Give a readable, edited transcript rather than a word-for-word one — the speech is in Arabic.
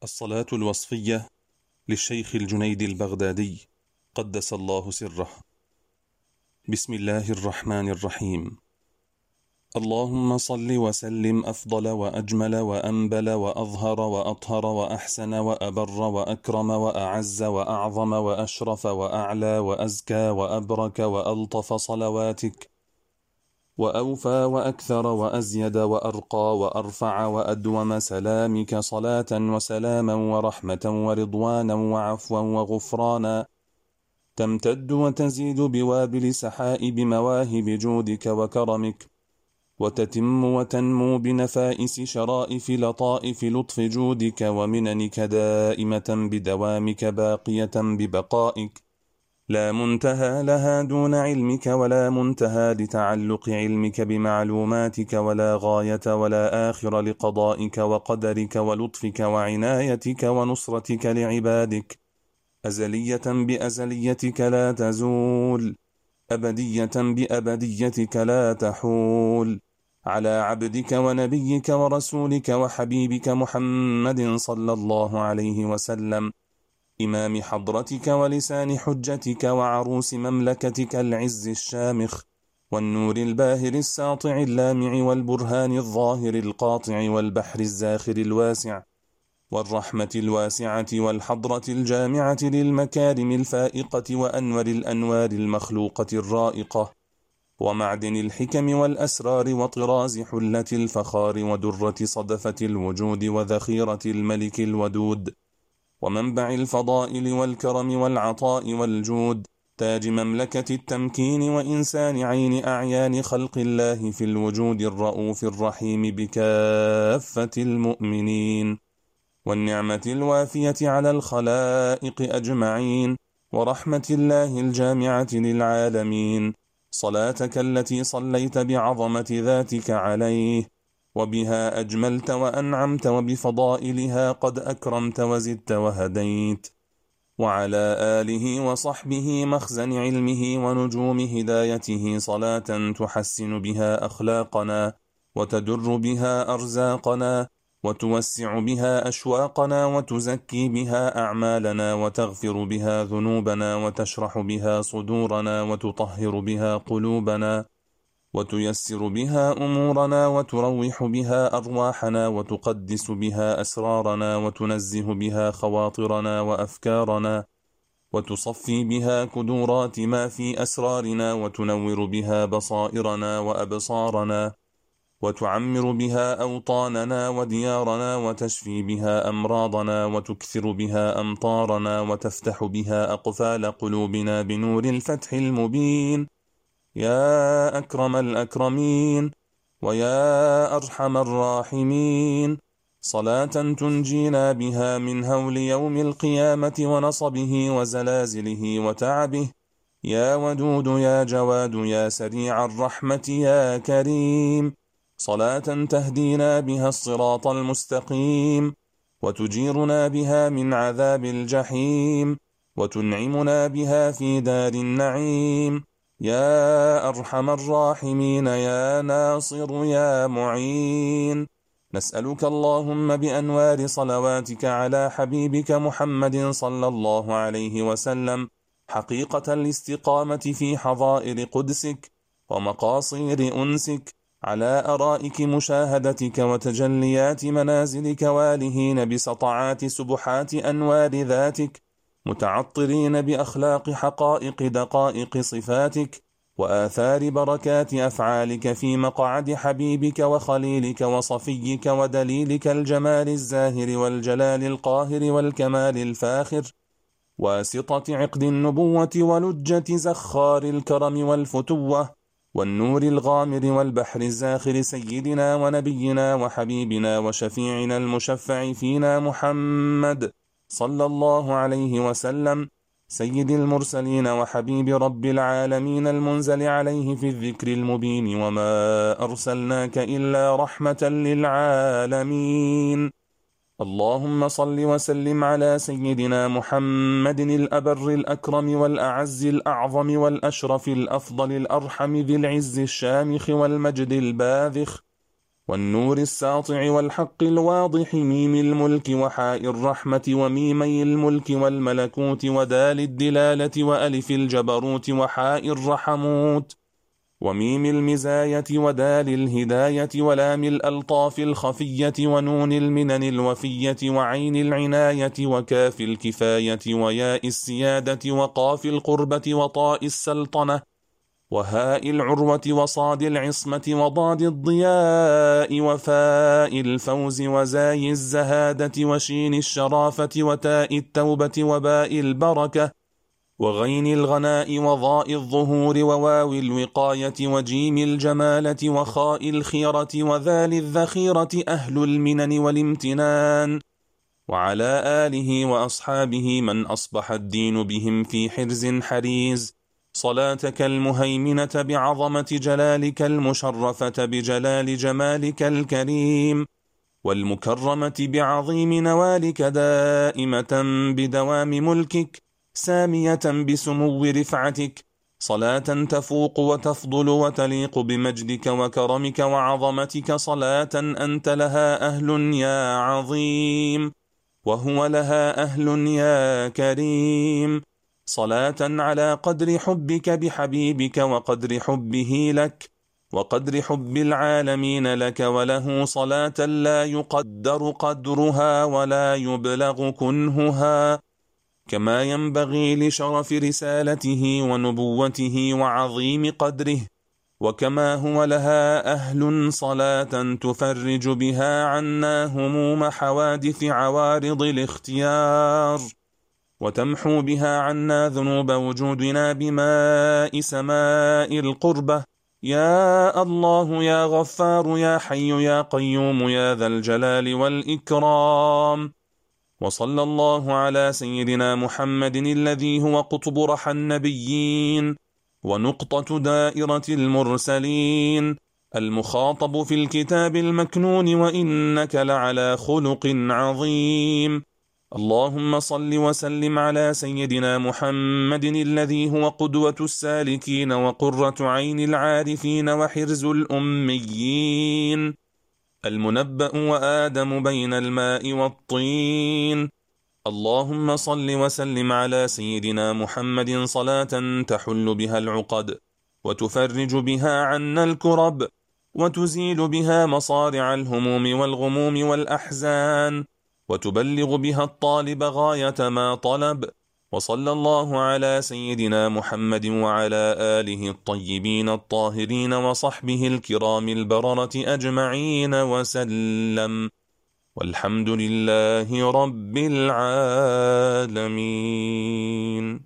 الصلاة الوصفية للشيخ الجنيد البغدادي قدس الله سره. بسم الله الرحمن الرحيم. اللهم صل وسلم أفضل وأجمل وأنبل وأظهر وأطهر وأحسن وأبر وأكرم وأعز وأعظم وأشرف وأعلى وأزكى وأبرك وألطف صلواتك، وأوفى وأكثر وأزيد وأرقى وأرفع وأدوم سلامك، صلاة وسلاما ورحمة ورضوانا وعفوا وغفرانا، تمتد وتزيد بوابل سحائب مواهب جودك وكرمك، وتتم وتنمو بنفائس شرائف لطائف لطف جودك ومننك، دائمة بدوامك باقية ببقائك، لا منتهى لها دون علمك، ولا منتهى لتعلق علمك بمعلوماتك، ولا غاية ولا آخر لقضائك وقدرك ولطفك وعنايتك ونصرتك لعبادك، أزلية بأزليتك لا تزول، أبدية بأبديتك لا تحول، على عبدك ونبيك ورسولك وحبيبك محمد صلى الله عليه وسلم، إمام حضرتك ولسان حجتك وعروس مملكتك العز الشامخ، والنور الباهر الساطع اللامع، والبرهان الظاهر القاطع، والبحر الزاخر الواسع، والرحمة الواسعة، والحضرة الجامعة للمكارم الفائقة، وأنور الأنوار المخلوقة الرائقة، ومعدن الحكم والأسرار، وطراز حلة الفخار، ودرة صدفة الوجود، وذخيرة الملك الودود، ومنبع الفضائل والكرم والعطاء والجود، تاج مملكة التمكين، وإنسان عين أعيان خلق الله في الوجود، الرؤوف الرحيم بكافة المؤمنين، والنعمة الوافية على الخلائق أجمعين، ورحمة الله الجامعة للعالمين، صلاتك التي صليت بعظمة ذاتك عليه، وبها أجملت وأنعمت، وبفضائلها قد أكرمت وزدت وهديت، وعلى آله وصحبه مخزن علمه ونجوم هدايته، صلاة تحسن بها أخلاقنا، وتدر بها أرزاقنا، وتوسع بها أشواقنا، وتزكي بها أعمالنا، وتغفر بها ذنوبنا، وتشرح بها صدورنا، وتطهر بها قلوبنا، وتيسر بها أمورنا، وتروح بها أرواحنا، وتقدس بها أسرارنا، وتنزه بها خواطرنا وأفكارنا، وتصفي بها كدورات ما في أسرارنا، وتنور بها بصائرنا وأبصارنا، وتعمر بها أوطاننا وديارنا، وتشفي بها أمراضنا، وتكثر بها أمطارنا، وتفتح بها أقفال قلوبنا بنور الفتح المبين، يا أكرم الأكرمين ويا أرحم الراحمين، صلاة تنجينا بها من هول يوم القيامة ونصبه وزلازله وتعبه، يا ودود يا جواد يا سريع الرحمة يا كريم، صلاة تهدينا بها الصراط المستقيم، وتجيرنا بها من عذاب الجحيم، وتنعمنا بها في دار النعيم، يا أرحم الراحمين يا ناصر يا معين. نسألك اللهم بأنوار صلواتك على حبيبك محمد صلى الله عليه وسلم حقيقة الاستقامة في حظائر قدسك ومقاصير أنسك، على أرائك مشاهدتك وتجليات منازلك، والهين بسطعات سبحات أنوار ذاتك، متعطرين بأخلاق حقائق دقائق صفاتك، وآثار بركات أفعالك في مقعد حبيبك وخليلك وصفيك ودليلك الجمال الزاهر والجلال القاهر والكمال الفاخر، واسطة عقد النبوة ولجة زخار الكرم والفتوة والنور الغامر والبحر الزاخر، سيدنا ونبينا وحبيبنا وشفيعنا المشفع فينا محمد صلى الله عليه وسلم، سيد المرسلين وحبيب رب العالمين، المنزل عليه في الذكر المبين، وما أرسلناك إلا رحمة للعالمين. اللهم صل وسلم على سيدنا محمد الأبر الأكرم والأعز الأعظم والأشرف الأفضل الأرحم ذي العز الشامخ والمجد الباذخ، والنور الساطع والحق الواضح، ميم الملك وحاء الرحمة وميمي الملك والملكوت ودال الدلالة وألف الجبروت وحاء الرحموت وميم المزاية ودال الهداية ولام الألطاف الخفية ونون المنن الوفية وعين العناية وكاف الكفاية وياء السيادة وقاف القربة وطاء السلطنة وهاء العروة وصاد العصمة وضاد الضياء وفاء الفوز وزاي الزهادة وشين الشرافة وتاء التوبة وباء البركة وغين الغناء وضاء الظهور وواو الوقاية وجيم الجمالة وخاء الخيرة وذال الذخيرة أهل المنن والامتنان وعلى آله وأصحابه من أصبح الدين بهم في حرز حريز، صلاتك المهيمنة بعظمة جلالك المشرفة بجلال جمالك الكريم والمكرمة بعظيم نوالك دائمة بدوام ملكك سامية بسمو رفعتك، صلاة تفوق وتفضل وتليق بمجدك وكرمك وعظمتك، صلاة أنت لها أهل يا عظيم وهو لها أهل يا كريم، صلاة على قدر حبك بحبيبك وقدر حبه لك وقدر حب العالمين لك وله، صلاة لا يقدر قدرها ولا يبلغ كنهها، كما ينبغي لشرف رسالته ونبوته وعظيم قدره، وكما هو لها أهل، صلاة تفرج بها عنا هموم حوادث عوارض الاختيار وتمحو بها عنا ذنوب وجودنا بماء سماء القربة، يا الله يا غفار يا حي يا قيوم يا ذا الجلال والإكرام. وصلى الله على سيدنا محمد الذي هو قطب رحى النبيين ونقطة دائرة المرسلين المخاطب في الكتاب المكنون، وإنك لعلى خلق عظيم. اللهم صل وسلم على سيدنا محمد الذي هو قدوة السالكين وقرة عين العارفين وحرز الأميين المنبأ وآدم بين الماء والطين. اللهم صل وسلم على سيدنا محمد صلاة تحل بها العقد وتفرج بها عنا الكرب وتزيل بها مصارع الهموم والغموم والأحزان وتبلغ بها الطالب غاية ما طلب. وصلى الله على سيدنا محمد وعلى آله الطيبين الطاهرين وصحبه الكرام البررة أجمعين وسلم، والحمد لله رب العالمين.